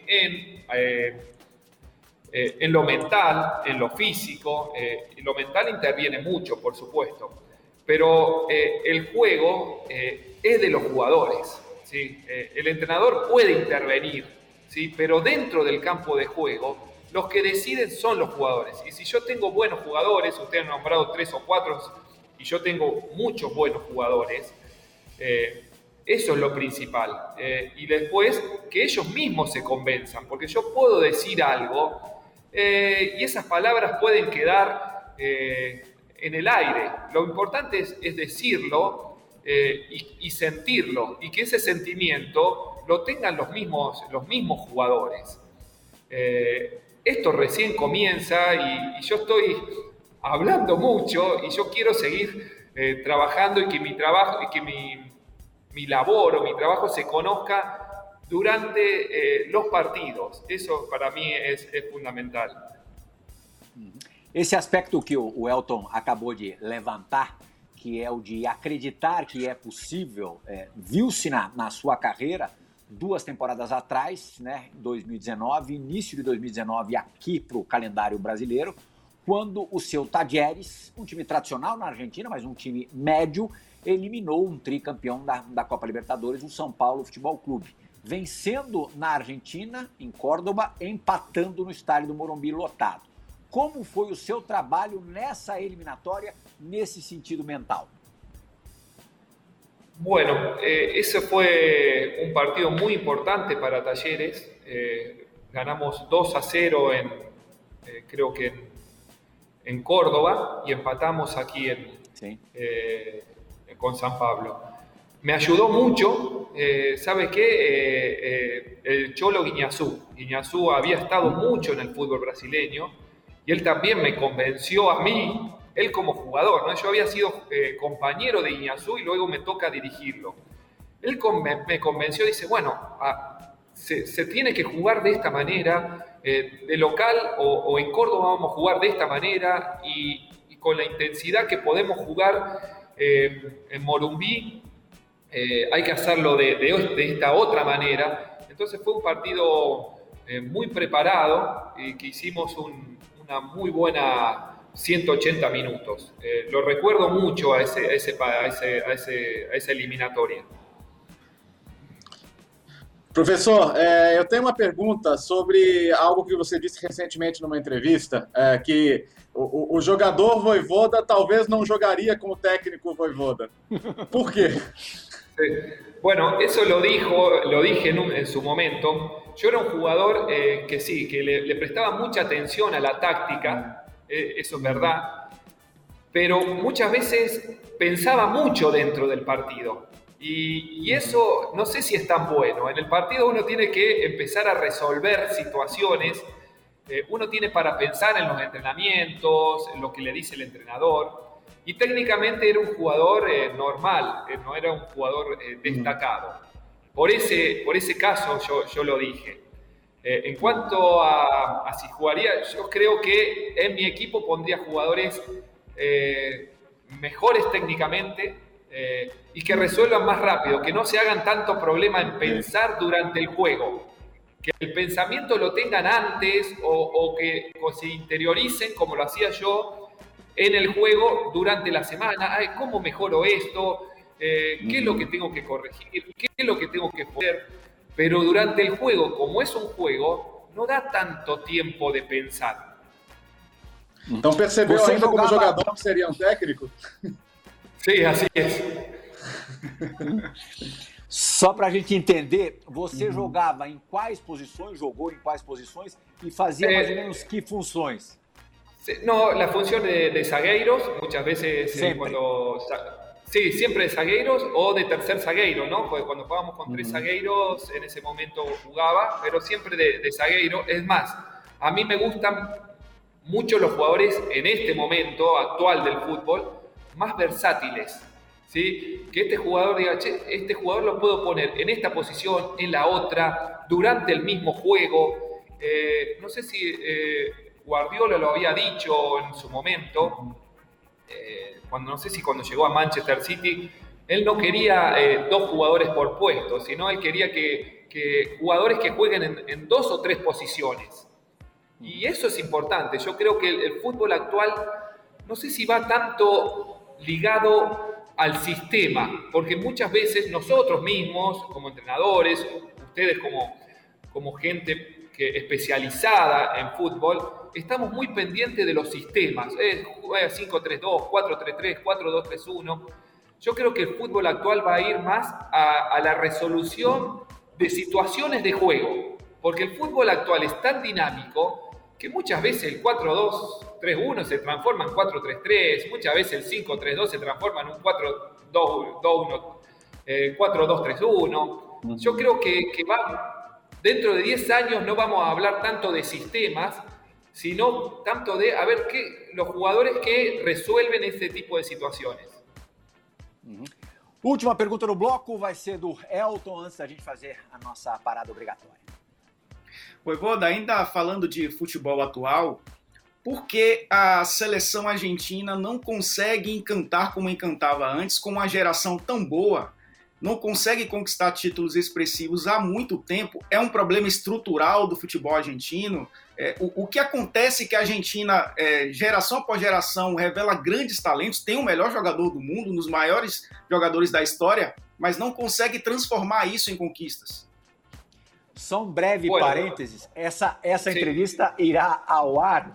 En lo mental, en lo físico. Lo mental interviene mucho, por supuesto, pero el juego es de los jugadores, ¿sí? El entrenador puede intervenir, ¿sí? Pero dentro del campo de juego los que deciden son los jugadores. Y si yo tengo buenos jugadores, ustedes han nombrado 3 o 4, y yo tengo muchos buenos jugadores, eso es lo principal. Y después, que ellos mismos se convenzan, porque yo puedo decir algo y esas palabras pueden quedar en el aire. Lo importante es decirlo y sentirlo, y que ese sentimiento lo tengan los mismos jugadores. Esto recién comienza y yo estoy hablando mucho y yo quiero seguir trabajando y que mi trabajo y que mi labor o mi trabajo se conozca durante los partidos. Eso para mí es fundamental. Esse aspecto que o Elton acabou de levantar, que é o de acreditar que é possível, viu-se na sua carreira 2 temporadas atrás, né, 2019, início de 2019, aqui para o calendário brasileiro, quando o seu Talleres, um time tradicional na Argentina, mas um time médio, eliminou um tricampeão da Copa Libertadores, o São Paulo Futebol Clube, vencendo na Argentina, em Córdoba, empatando no estádio do Morumbi lotado. Como foi o seu trabalho nessa eliminatória, nesse sentido mental? Bueno, ese fue un partido muy importante para Talleres. Ganamos 2-0 creo que en Córdoba y empatamos aquí con San Pablo. Me ayudó mucho, ¿sabe qué? El Cholo Guiñazú había estado mucho en el fútbol brasileño y él también me convenció a mí, él como jugador, ¿no? Yo había sido compañero de Guiñazú y luego me toca dirigirlo. Él me convenció, dice, bueno, se tiene que jugar de esta manera, de local o en Córdoba vamos a jugar de esta manera y con la intensidad que podemos jugar en Morumbí, hay que hacerlo de esta otra manera. Entonces fue un partido muy preparado y que hicimos una muy buena 180 minutos. Lo recuerdo mucho a esa eliminatoria. Professor, eu tenho uma pergunta sobre algo que você disse recentemente numa entrevista, que o jogador Vojvoda talvez não jogaria como técnico Vojvoda. ¿Por qué? Bueno, eso lo dije en su momento. Yo era un jugador que sí, que le prestaba mucha atención a la táctica, eso es verdad, pero muchas veces pensaba mucho dentro del partido. Y eso no sé si es tan bueno. En el partido uno tiene que empezar a resolver situaciones. Uno tiene para pensar en los entrenamientos, en lo que le dice el entrenador. Y técnicamente era un jugador normal, no era un jugador destacado. Por ese caso yo lo dije. En cuanto a si jugaría, yo creo que en mi equipo pondría jugadores mejores técnicamente, y que resuelvan más rápido, que no se hagan tanto problema en pensar durante el juego, que el pensamiento lo tengan antes o que se interioricen como lo hacía yo en el juego durante la semana. Ay, ¿cómo mejoro esto? ¿Qué es lo que tengo que corregir? ¿Qué es lo que tengo que hacer? Pero durante el juego, como es un juego, no da tanto tiempo de pensar. Então percebeu ainda como jogador que seria técnico? Sim, assim é. Só para a gente entender, você jogava em quais posições, jogou em quais posições e fazia mais ou menos que funções? No, la función de zagueiros, muchas veces sí, siempre de zagueiros o de tercer zagueiro, ¿no? Porque cuando jugábamos con tres zagueiros, en ese momento jugaba, pero siempre de zagueiro. Es más, a mí me gustan mucho los jugadores en este momento actual del fútbol, más versátiles, ¿sí? Que este jugador diga, che, este jugador lo puedo poner en esta posición, en la otra, durante el mismo juego. No sé si Guardiola lo había dicho en su momento, no sé si cuando llegó a Manchester City, él no quería dos jugadores por puesto, sino él quería que jugadores que jueguen en dos o tres posiciones. Y eso es importante. Yo creo que el fútbol actual, no sé si va tanto ligado al sistema, porque muchas veces nosotros mismos, como entrenadores, ustedes como gente especializada en fútbol, estamos muy pendientes de los sistemas. 5-3-2, 4-3-3, 4-2-3-1. Yo creo que el fútbol actual va a ir más a la resolución de situaciones de juego, porque el fútbol actual es tan dinámico que muchas veces el 4-2-3-1 se transforma en 4-3-3, muchas veces el 5-3-2 se transforma en un 4-2-1, 4-2-3-1. Yo creo que dentro de 10 años no vamos a hablar tanto de sistemas, sino tanto de los jugadores que resuelven ese tipo de situaciones. Última pergunta no bloco vai ser do Elton, antes da gente fazer a nossa parada obrigatória. Vojvoda, ainda falando de futebol atual, por que a seleção argentina não consegue encantar como encantava antes, com uma geração tão boa? Não consegue conquistar títulos expressivos há muito tempo? É um problema estrutural do futebol argentino? O que acontece é que a Argentina, geração após geração, revela grandes talentos, tem o melhor jogador do mundo, um dos maiores jogadores da história, mas não consegue transformar isso em conquistas. Só um breve parênteses, essa entrevista irá ao ar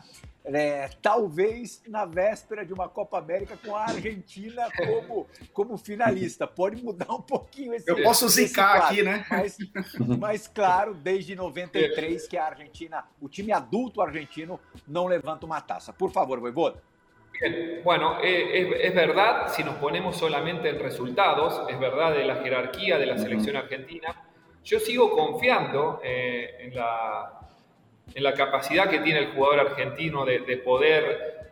talvez na véspera de uma Copa América com a Argentina como finalista. Pode mudar um pouquinho esse. Eu posso zicar aqui, né? Mas claro, desde 93 que a Argentina, o time adulto argentino, não levanta uma taça. Por favor, Vojvoda. Bien. Bueno, es verdad, si nos ponemos solamente en resultados, es verdad de la jerarquía de la selección argentina. Yo sigo confiando en la capacidad que tiene el jugador argentino de poder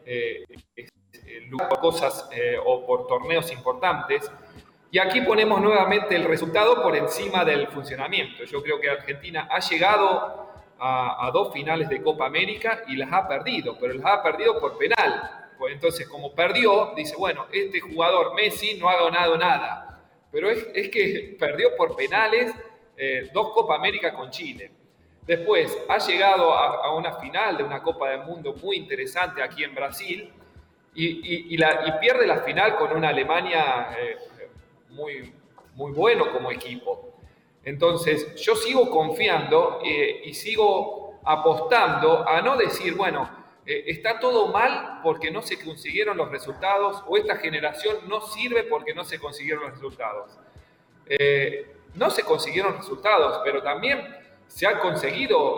luchar por cosas o por torneos importantes. Y aquí ponemos nuevamente el resultado por encima del funcionamiento. Yo creo que Argentina ha llegado a 2 finales de Copa América y las ha perdido, pero las ha perdido por penal. Entonces, como perdió, dice, bueno, este jugador Messi no ha ganado nada. Pero es que perdió por penales 2 Copa América con Chile. Después ha llegado a una final de una Copa del Mundo muy interesante aquí en Brasil y pierde la final con una Alemania muy, muy bueno como equipo. Entonces, yo sigo confiando y sigo apostando a no decir, bueno, está todo mal porque no se consiguieron los resultados, o esta generación no sirve porque no se consiguieron los resultados. No se consiguieron resultados, pero también se han conseguido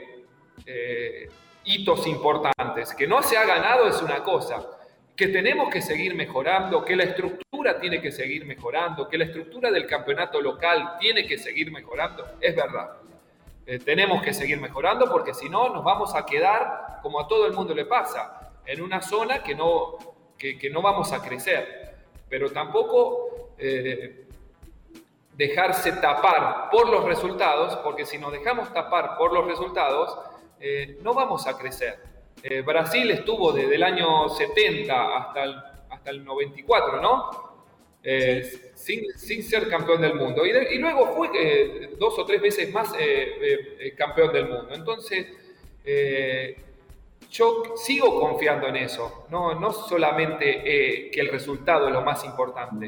hitos importantes. Que no se ha ganado es una cosa, que tenemos que seguir mejorando, que la estructura tiene que seguir mejorando, que la estructura del campeonato local tiene que seguir mejorando, es verdad. Tenemos que seguir mejorando porque si no nos vamos a quedar, como a todo el mundo le pasa, en una zona que no vamos a crecer. Pero tampoco dejarse tapar por los resultados, porque si nos dejamos tapar por los resultados, no vamos a crecer. Brasil estuvo desde el año 70 hasta el 94, ¿no? Sin ser campeón del mundo. Y luego fue 2 o 3 veces más campeón del mundo. Entonces, yo sigo confiando en eso. No solamente que el resultado es lo más importante.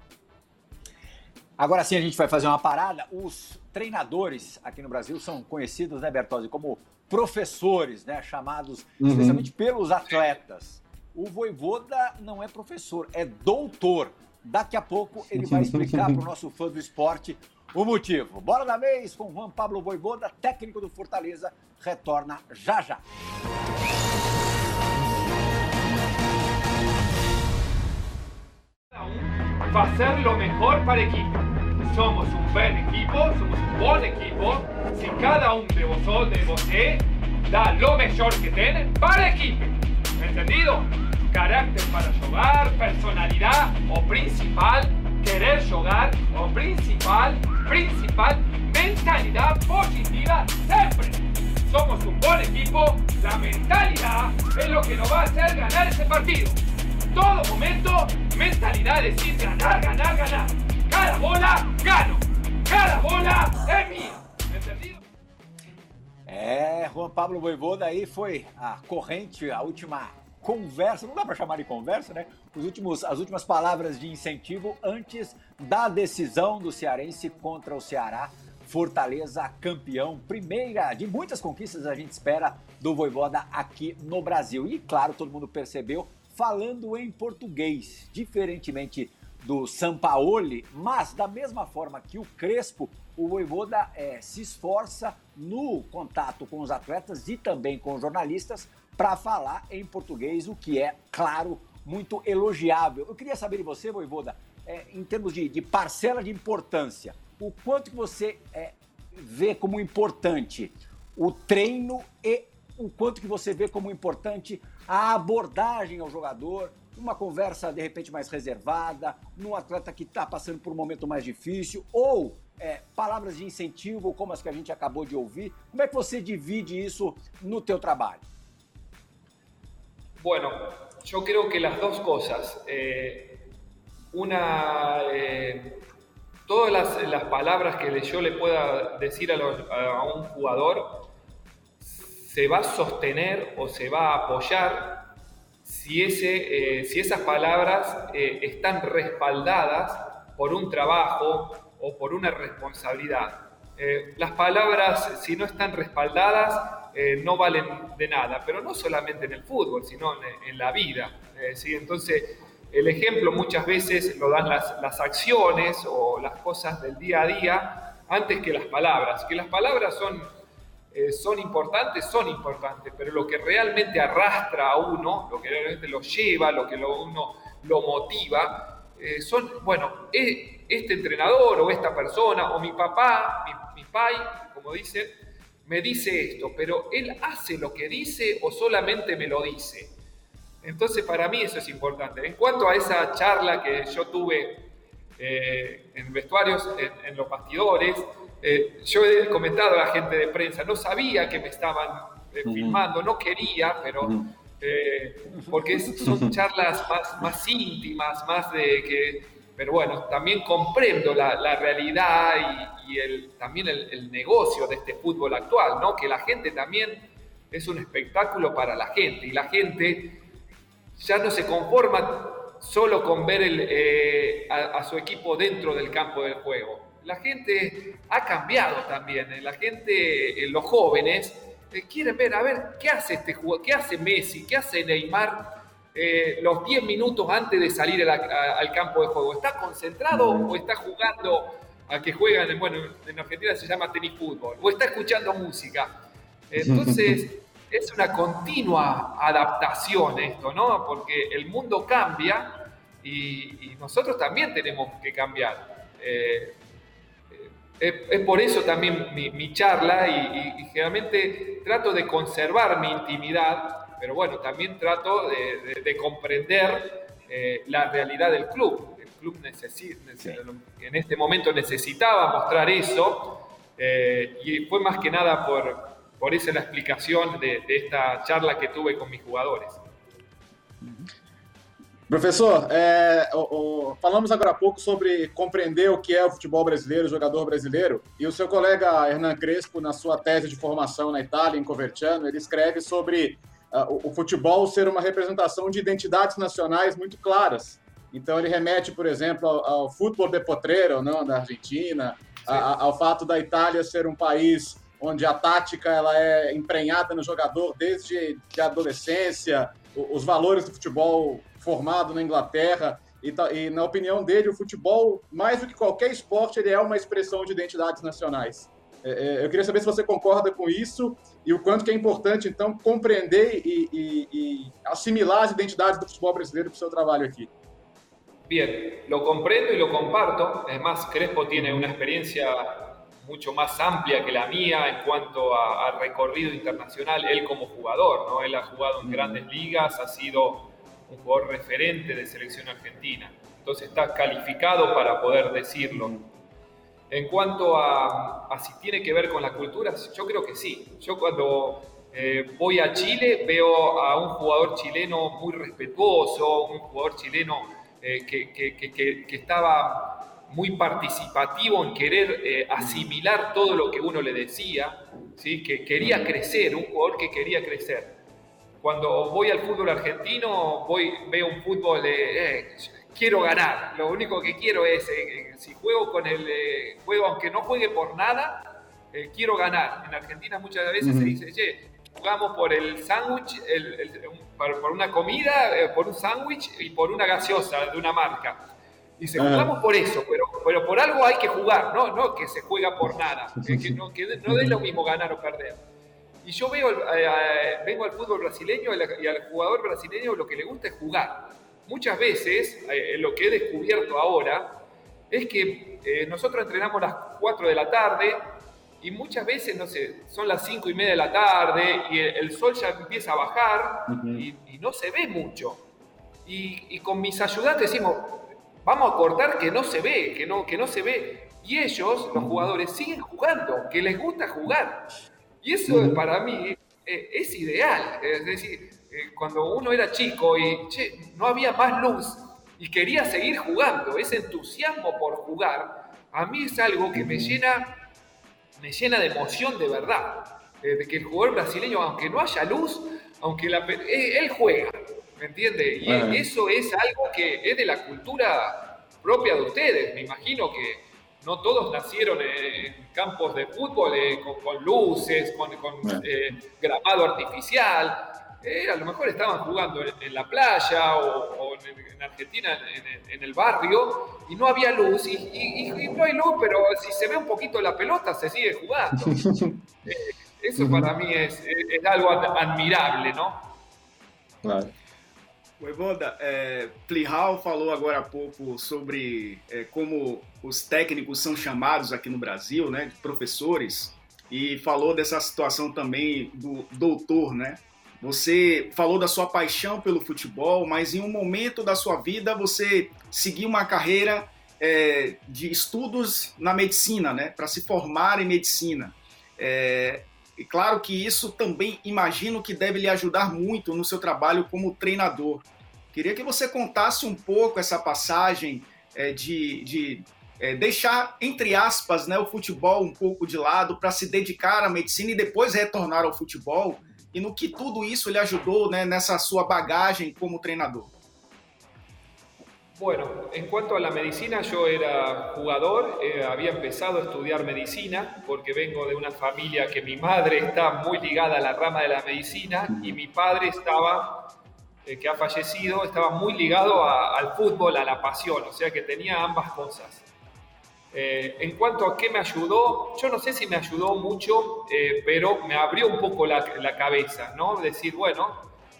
Agora sim, a gente vai fazer uma parada. Os treinadores aqui no Brasil são conhecidos, né, Bertozzi, como professores, né, chamados especialmente pelos atletas. O Vojvoda não é professor, é doutor. Daqui a pouco ele vai explicar para o nosso fã do esporte o motivo. Bola da vez com Juan Pablo Vojvoda, técnico do Fortaleza, retorna já já. Hacer lo mejor para el equipo. Somos un buen equipo, somos un buen equipo. Si cada uno de vosotros da lo mejor que tiene para el equipo. ¿Entendido? Carácter para jugar, personalidad o principal, querer jugar o principal, mentalidad positiva siempre. Somos un buen equipo, la mentalidad es lo que nos va a hacer ganar ese partido. Todo momento, mentalidad es decir ganar. Cada bola, gano. Cada bola é minha. Entendido? Juan Pablo Vojvoda aí foi a corrente, a última conversa, não dá para chamar de conversa, né? As últimas palavras de incentivo antes da decisão do cearense contra o Ceará. Fortaleza campeão, primeira de muitas conquistas a gente espera do Vojvoda aqui no Brasil. E claro, todo mundo percebeu, falando em português, diferentemente do Sampaoli, mas da mesma forma que o Crespo, o Vojvoda se esforça no contato com os atletas e também com os jornalistas para falar em português, o que é, claro, muito elogiável. Eu queria saber de você, Vojvoda, em termos de parcela de importância, o quanto que você vê como importante o treino e o quanto que você vê como importante a abordagem ao jogador, uma conversa de repente mais reservada, num atleta que está passando por um momento mais difícil, ou palavras de incentivo como as que a gente acabou de ouvir. Como é que você divide isso no teu trabalho? Bueno, yo creo que las dos cosas. Todas las palabras que yo le pueda decir a un jugador se va a sostener o se va a apoyar si esas palabras están respaldadas por un trabajo o por una responsabilidad. Las palabras, si no están respaldadas, no valen de nada, pero no solamente en el fútbol, sino en la vida. ¿Sí? Entonces, el ejemplo muchas veces lo dan las acciones o las cosas del día a día antes que las palabras. Que las palabras son importantes, pero lo que realmente arrastra a uno, lo que realmente lo lleva, lo que uno lo motiva, este entrenador o esta persona, o mi papá, mi pai, como dicen, me dice esto, pero él hace lo que dice o solamente me lo dice. Entonces para mí eso es importante. En cuanto a esa charla que yo tuve en vestuarios, en los bastidores, yo he comentado a la gente de prensa, no sabía que me estaban filmando, no quería, pero porque son charlas más íntimas, más de que... Pero bueno, también comprendo la realidad y también el negocio de este fútbol actual, ¿no? Que la gente también es un espectáculo para la gente y la gente ya no se conforma solo con ver a su equipo dentro del campo del juego. la gente ha cambiado también. La gente, los jóvenes, quieren ver, a ver, ¿qué hace este jugador? ¿Qué hace Messi? ¿Qué hace Neymar los 10 minutos antes de salir al campo de juego? ¿Está concentrado o está jugando a que juegan? Bueno, en Argentina se llama tenis fútbol. ¿O está escuchando música? Entonces, es una continua adaptación esto, ¿no? Porque el mundo cambia y nosotros también tenemos que cambiar. Es por eso también mi charla y generalmente trato de conservar mi intimidad, pero bueno, también trato de comprender la realidad del club. El club en este momento necesitaba mostrar eso y fue más que nada por esa la explicación de esta charla que tuve con mis jugadores. Professor, falamos agora há pouco sobre compreender o que é o futebol brasileiro, o jogador brasileiro, e o seu colega Hernan Crespo, na sua tese de formação na Itália, em Coverciano, ele escreve sobre o futebol ser uma representação de identidades nacionais muito claras. Então ele remete, por exemplo, ao futebol de potrero, não, da Argentina, ao fato da Itália ser um país onde a tática ela é emprenhada no jogador desde a adolescência, os valores do futebol formado na Inglaterra, e na opinião dele, o futebol, mais do que qualquer esporte, ele é uma expressão de identidades nacionais. Eu queria saber se você concorda com isso e o quanto que é importante, então, compreender e assimilar as identidades do futebol brasileiro para o seu trabalho aqui. Bien, lo comprendo y lo comparto. Es más, Crespo tiene una experiencia mucho más amplia que la mía en cuanto a recorrido internacional, él como jugador, ¿no? Él ha jugado en grandes ligas, ha sido un jugador referente de selección argentina, entonces está calificado para poder decirlo. En cuanto a si tiene que ver con la cultura, yo creo que sí. Yo cuando voy a Chile veo a un jugador chileno muy respetuoso, un jugador chileno que estaba muy participativo en querer asimilar todo lo que uno le decía, ¿sí? Que quería crecer, un jugador que quería crecer. Cuando voy al fútbol argentino, veo un fútbol quiero ganar. Lo único que quiero es, si juego con el juego, aunque no juegue por nada, quiero ganar. En Argentina muchas veces se dice, che, jugamos por el sándwich, por una comida, por un sándwich y por una gaseosa de una marca. Dice, jugamos por eso, pero por algo hay que jugar, no que se juega por nada. Que no es lo mismo ganar o perder. Y yo vengo al fútbol brasileño y al jugador brasileño lo que le gusta es jugar. Muchas veces, lo que he descubierto ahora, es que nosotros entrenamos a las 4 de la tarde y muchas veces, no sé, son las 5:30 de la tarde y el sol ya empieza a bajar y no se ve mucho. Y con mis ayudantes decimos, vamos a cortar que no se ve, que no se ve. Y ellos, los jugadores, siguen jugando, que les gusta jugar. Y eso para mí es ideal. Es decir, cuando uno era chico y no había más luz y quería seguir jugando, ese entusiasmo por jugar, a mí es algo que me llena de emoción de verdad. De que el jugador brasileño, aunque no haya luz, él juega, ¿me entiende? Y eso es algo que es de la cultura propia de ustedes. Me imagino que no todos nacieron en campos de fútbol con luces, con gramado artificial. A lo mejor estaban jugando en la playa o en Argentina en el barrio y no había luz y no hay luz, pero si se ve un poquito la pelota se sigue jugando. Eso para mí es algo admirable, ¿no? Claro. Voivoda, Plihal falou agora há pouco sobre como os técnicos são chamados aqui no Brasil, né, de professores, e falou dessa situação também do doutor, né? Você falou da sua paixão pelo futebol, mas em um momento da sua vida você seguiu uma carreira de estudos na medicina, né, para se formar em medicina. E claro que isso também imagino que deve lhe ajudar muito no seu trabalho como treinador. Queria que você contasse um pouco essa passagem de deixar, entre aspas, né, o futebol um pouco de lado para se dedicar à medicina e depois retornar ao futebol, e no que tudo isso lhe ajudou, né, nessa sua bagagem como treinador. Bueno, en cuanto a la medicina, yo era jugador, había empezado a estudiar medicina porque vengo de una familia que mi madre está muy ligada a la rama de la medicina y mi padre estaba, que ha fallecido, estaba muy ligado al fútbol, a la pasión, o sea que tenía ambas cosas. En cuanto a qué me ayudó, yo no sé si me ayudó mucho, pero me abrió un poco la cabeza, ¿no? Decir, bueno,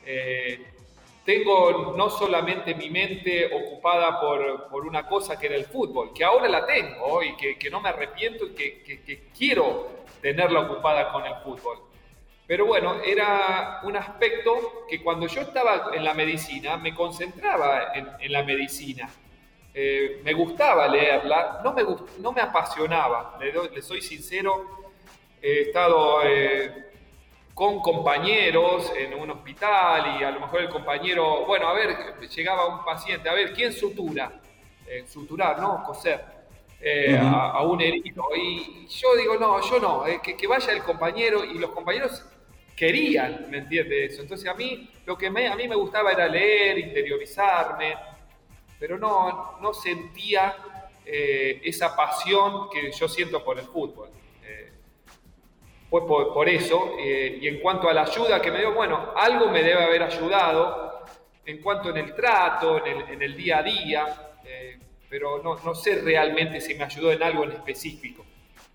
tengo no solamente mi mente ocupada por una cosa que era el fútbol, que ahora la tengo y que no me arrepiento y que quiero tenerla ocupada con el fútbol. Pero bueno, era un aspecto que cuando yo estaba en la medicina, me concentraba en la medicina. Me gustaba leerla, no me apasionaba, le soy sincero. He estado con compañeros en un hospital y a lo mejor el compañero, bueno, a ver, llegaba un paciente, a ver, ¿quién sutura? Suturar, ¿no? Coser a un herido. Y yo digo, no, yo no, que vaya el compañero, y los compañeros querían, ¿me entiendes? Eso. Entonces a mí, lo que a mí me gustaba era leer, interiorizarme, pero no sentía esa pasión que yo siento por el fútbol. Fue por eso, y en cuanto a la ayuda que me dio, bueno, algo me debe haber ayudado en cuanto en el trato, en el día a día, pero no sé realmente si me ayudou em algo em específico.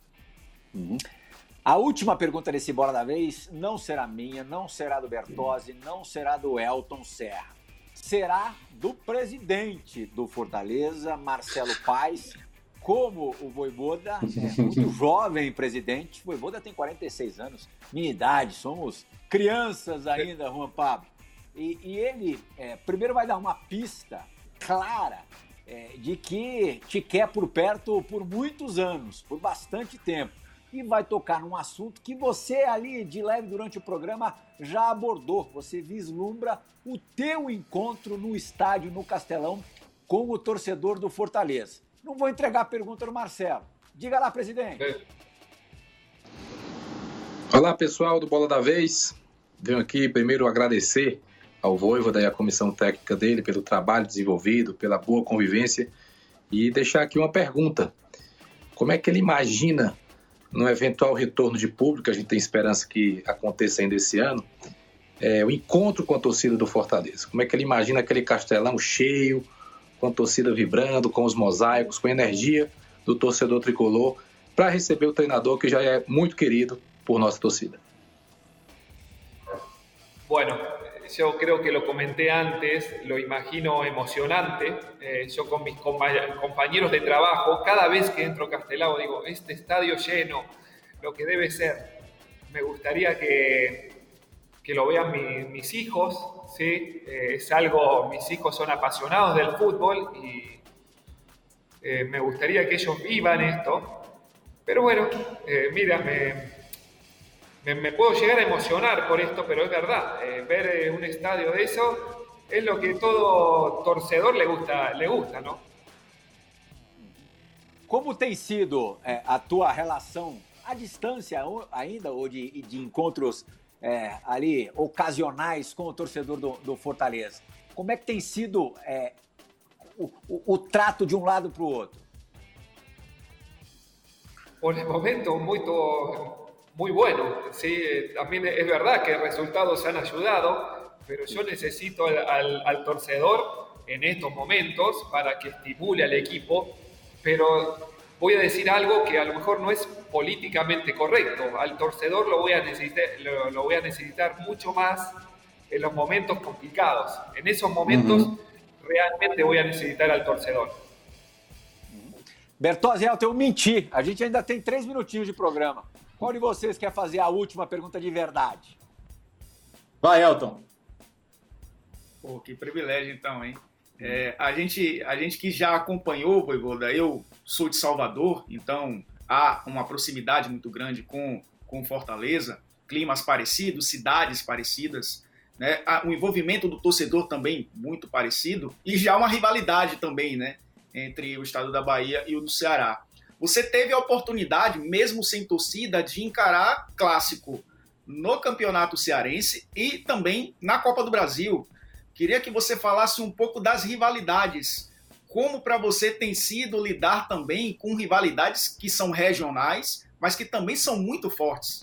A última pergunta desse Bola da Vez não será minha, não será do Bertozzi, não será do Elton Serra. Será do presidente do Fortaleza, Marcelo Paes. Como o Vojvoda é muito jovem presidente, o Vojvoda tem 46 anos, minha idade, somos crianças ainda, Juan Pablo. E ele primeiro vai dar uma pista clara de que te quer por perto por muitos anos, por bastante tempo. E vai tocar num assunto que você ali, de leve durante o programa, já abordou. Você vislumbra o teu encontro no estádio, no Castelão, com o torcedor do Fortaleza. Não vou entregar a pergunta do Marcelo. Diga lá, presidente. Olá, pessoal do Bola da Vez. Venho aqui primeiro agradecer ao Vojvoda e à comissão técnica dele pelo trabalho desenvolvido, pela boa convivência, e deixar aqui uma pergunta. Como é que ele imagina, no eventual retorno de público, a gente tem esperança que aconteça ainda esse ano, o encontro com a torcida do Fortaleza? Como é que ele imagina aquele Castelão cheio, com a torcida vibrando, com os mosaicos, com a energia do torcedor tricolor, para receber o treinador que já é muito querido por nossa torcida? Bueno, yo creo que lo comenté antes, lo imagino emocionante. Yo con mis compañeros de trabajo, cada vez que entro a Castelao digo, este estadio lleno, lo que debe ser. Me gustaría que lo vean mis hijos, ¿sí? Es algo, mis hijos son apasionados del fútbol y me gustaría que ellos vivan esto. Pero bueno, mira, me puedo llegar a emocionar por esto, pero es verdad, ver un estadio de eso es lo que todo torcedor le gusta, ¿no? Como tem sido a tua relação à distância ainda, ou de encontros ali ocasionais com o torcedor do Fortaleza? Como é que tem sido o trato de um lado para o outro? Por el momento, muy bueno. Sí, también es verdad que resultados han ayudado, pero yo necesito al torcedor en estos momentos para que estimule al equipo, pero voy a decir algo que a lo mejor no es políticamente correcto. Al torcedor lo voy a necesitar mucho más en los momentos complicados. En esos momentos realmente voy a necesitar al torcedor. Bertozzi, eu menti. A gente ainda tem 3 minutinhos de programa. Qual de vocês quer fazer a última pergunta de verdade? Vai, Elton. Pô, que privilégio então, hein? A gente que já acompanhou o Vojvoda, eu sou de Salvador, então há uma proximidade muito grande com Fortaleza, climas parecidos, cidades parecidas, né? O envolvimento do torcedor também muito parecido, e já uma rivalidade também, né? Entre o estado da Bahia e o do Ceará. Você teve a oportunidade, mesmo sem torcida, de encarar clássico no Campeonato Cearense e também na Copa do Brasil. Queria que você falasse um pouco das rivalidades como para você tem sido lidar também com rivalidades que são regionais, mas que também são muito fortes.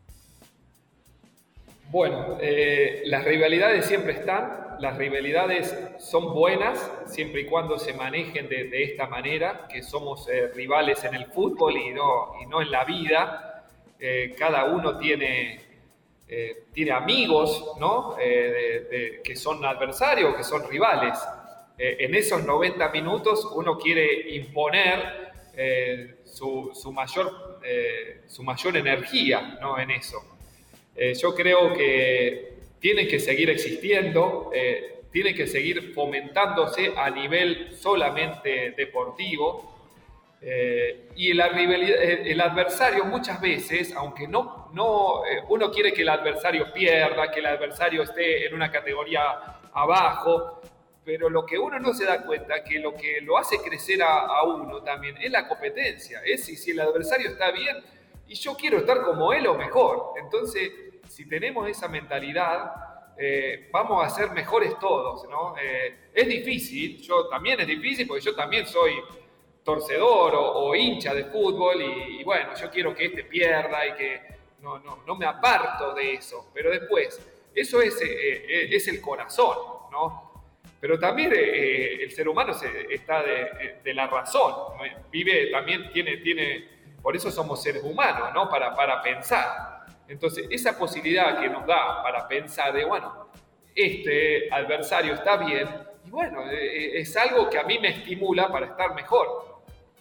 Bueno, las rivalidades siempre están, las rivalidades son buenas siempre y cuando se manejen de esta manera, que somos rivales en el fútbol y no en la vida. Cada uno tiene amigos, ¿no? Que son adversarios, que son rivales. En esos 90 minutos uno quiere imponer su mayor energía, ¿no? En eso. Yo creo que tienen que seguir existiendo, tienen que seguir fomentándose a nivel solamente deportivo. Y el adversario muchas veces, aunque uno quiere que el adversario pierda, que el adversario esté en una categoría abajo, pero lo que uno no se da cuenta, que lo que lo hace crecer a uno también es la competencia, es si el adversario está bien y yo quiero estar como él o mejor. Entonces, si tenemos esa mentalidad, vamos a ser mejores todos, ¿no? Es difícil, también es difícil porque yo también soy torcedor o hincha de fútbol y bueno, yo quiero que este pierda y que no me aparto de eso, pero después, eso es el corazón, ¿no? Pero también el ser humano está de la razón, ¿no? Vive, también tiene, por eso somos seres humanos, ¿no? Para pensar. Entonces, esa posibilidad que nos da para pensar de, bueno, este adversario está bien, y bueno, es algo que a mí me estimula para estar mejor.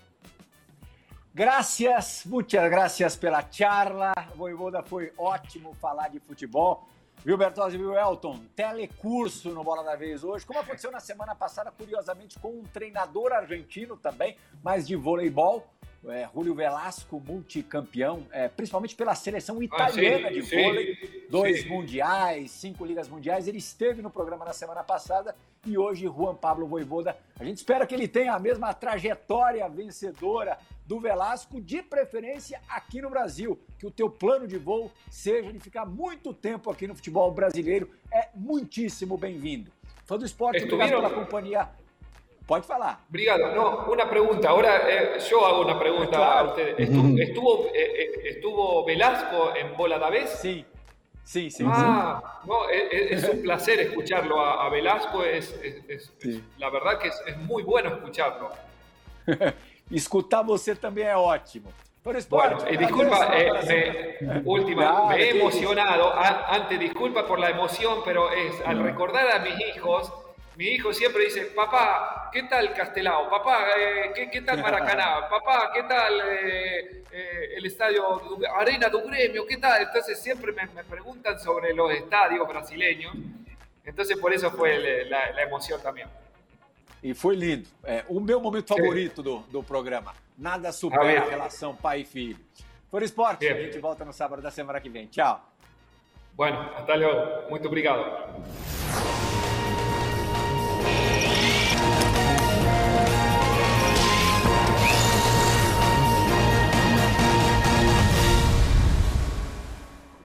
Gracias, muitas gracias pela charla. Voivoda, foi ótimo falar de futebol. Viu, Bertozzi, viu, Elton? Telecurso no Bola da Vez hoje, como aconteceu na semana passada, curiosamente, com um treinador argentino também, mas de voleibol, Julio Velasco, multicampeão, principalmente pela seleção italiana de vôlei, 2 mundiais, 5 ligas mundiais. Ele esteve no programa na semana passada e hoje Juan Pablo Voivoda. A gente espera que ele tenha a mesma trajetória vencedora do Velasco, de preferência aqui no Brasil, que o teu plano de voo seja de ficar muito tempo aqui no futebol brasileiro. É muitíssimo bem-vindo. Fã do esporte, obrigado pela companhia. Pode falar. Obrigado. No, una pregunta. Ahora yo hago una pregunta a ustedes. ¿Estuvo Velasco en Bola da Vez? Sí. No, es un placer escucharlo a Velasco. La verdad que es muy bueno escucharlo. Escutar você também é ótimo. Bueno, disculpa, me he emocionado. Antes, disculpa por la emoción, pero al recordar a mis hijos, mi hijo siempre dice, papá, ¿qué tal Castelao? Papá, ¿qué tal Maracaná? Papá, ¿qué tal el estadio Arena do Grêmio? ¿Qué tal? Entonces siempre me preguntan sobre los estadios brasileños. Entonces por eso fue la emoción también. E foi lindo. O meu momento favorito do programa. Nada supera a relação pai e filho. Por esporte, a gente volta no sábado da semana que vem. Tchau. Bueno, hasta luego. Muito obrigado.